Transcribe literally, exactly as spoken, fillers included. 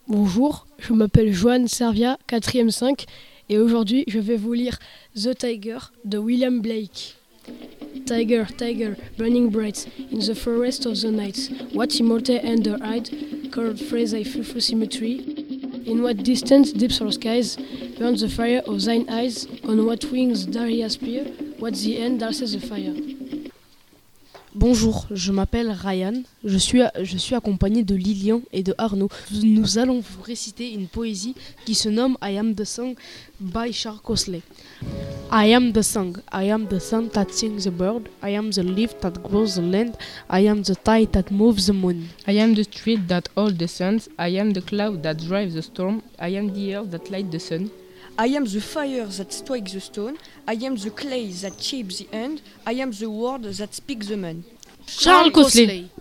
Bonjour, je m'appelle Joanne Servia, quatrième cinq, et aujourd'hui je vais vous lire The Tiger de William Blake. Tiger, tiger, burning bright, in the forest of the night, what immortal under hide, cold phrase I feel through symmetry, in what distant deeps or skies, burns the fire of thine eyes, on what wings dare he aspire, what the end darces the fire. Bonjour, je m'appelle Ryan, je suis, je suis accompagné de Lilian et de Arnaud. Nous allons vous réciter une poésie qui se nomme I Am the Song by Charles Cosley. I am the song, I am the sun that sings the bird, I am the leaf that grows the land, I am the tide that moves the moon. I am the street that holds the suns, I am the cloud that drives the storm, I am the earth that lights the sun. I am the fire that strikes the stone, I am the clay that shapes the end, I am the word that speaks the man. Charles Cosley.